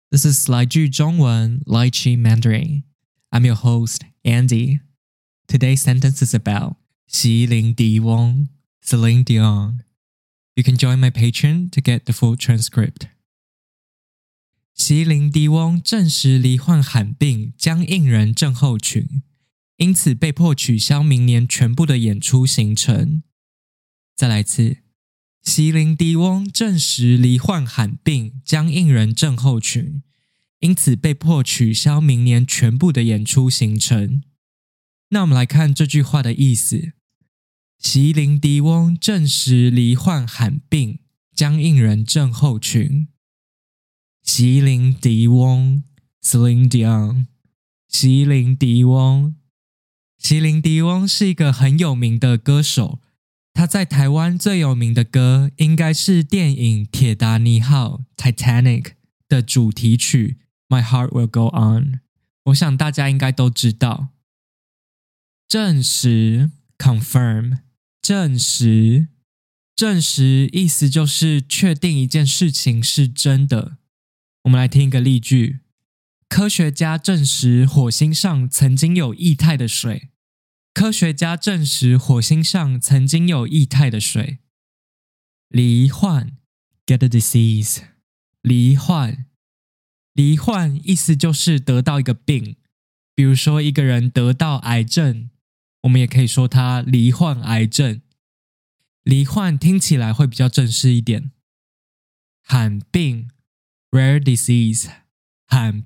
This is 来句中文 Lychee Mandarin. I'm your host, Andy. Today's sentence is about 席琳迪翁 Celine Dion. You can join my Patreon to get the full transcript. 席琳迪翁证实罹患罕病僵硬人症候群，因此被迫取消明年全部的演出行程。再来一次，席琳迪翁证实罹患罕病僵硬人症候群，因此被迫取消明年全部的演出行程。那我们来看这句话的意思。席琳迪翁证实罹患罕病僵硬人症候群。席琳迪翁 Celine Dion 席琳迪翁是一个很有名的歌手，他在台湾最有名的歌应该是电影《铁达尼号》Titanic 的主题曲 My Heart Will Go On， 我想大家应该都知道。证实 confirm 证实意思就是确定一件事情是真的。我们来听一个例句，科学家证实火星上曾经有液态的水。科学家证实火星上曾经有液态的水。罹患 get a disease 罹患意思就是得到一个病，比如说一个人得到癌症，我们也可以说他罹患癌症。罹患听起来会比较正式一点。罕病 rare disease 罕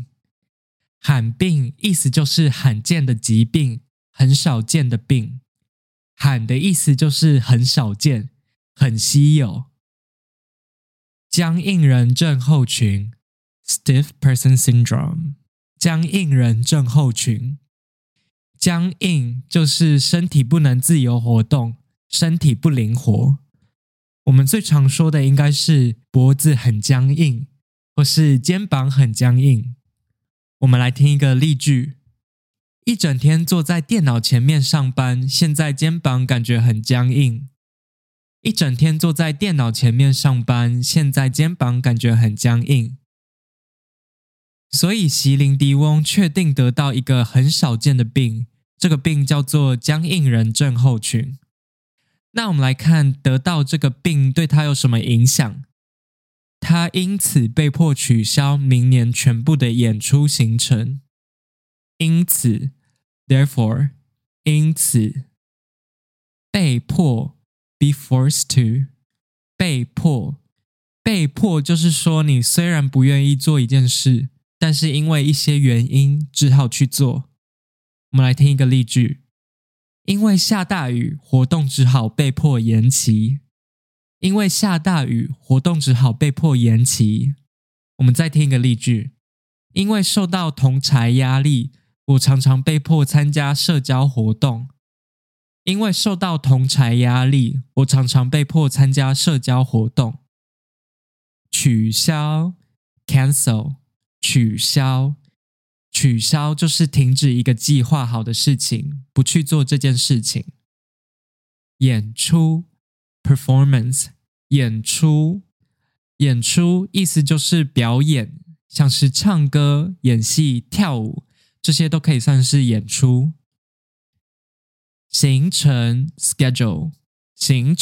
病意思就是罕见的疾病，很少见的病。罕的意思就是很少见，很稀有。僵硬人症候群 stiff person syndrome 僵硬人症候群。僵硬就是身体不能自由活动，身体不灵活。我们最常说的应该是脖子很僵硬，或是肩膀很僵硬。我们来听一个例句，一整天坐在电脑前面上班，现在肩膀感觉很僵硬。一整天坐在电脑前面上班，现在肩膀感觉很僵硬。所以席琳迪翁确定得到一个很少见的病，这个病叫做僵硬人症候群。那我们来看得到这个病对他有什么影响。他因此被迫取消明年全部的演出行程。因此 therefore 因此。被迫 be forced to 被迫就是说你虽然不愿意做一件事，但是因为一些原因只好去做。我们来听一个例句，因为下大雨，活动只好被迫延期。因为下大雨，活动只好被迫延期。我们再听一个例句，因为受到同侪压力，我常常被迫参加社交活动。因为受到同侪压力，我常常被迫参加社交活动。取消 cancel 取消就是停止一个计划好的事情，不去做这件事情。演出 performance 演出意思就是表演，像是唱歌、演戏、跳舞，这些都可以算是演出。行程 schedule 行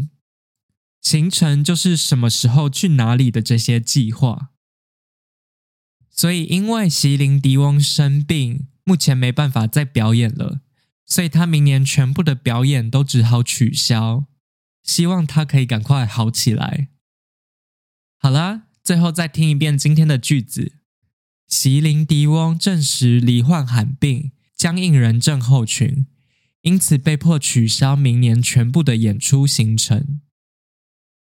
程就是什么时候去哪里的这些计划。所以因为席琳迪翁生病，目前没办法再表演了，所以他明年全部的表演都只好取消，希望他可以赶快好起来。好啦，最后再听一遍今天的句子。席琳迪翁证实罹患罕病僵硬人症候群，因此被迫取消明年全部的演出行程。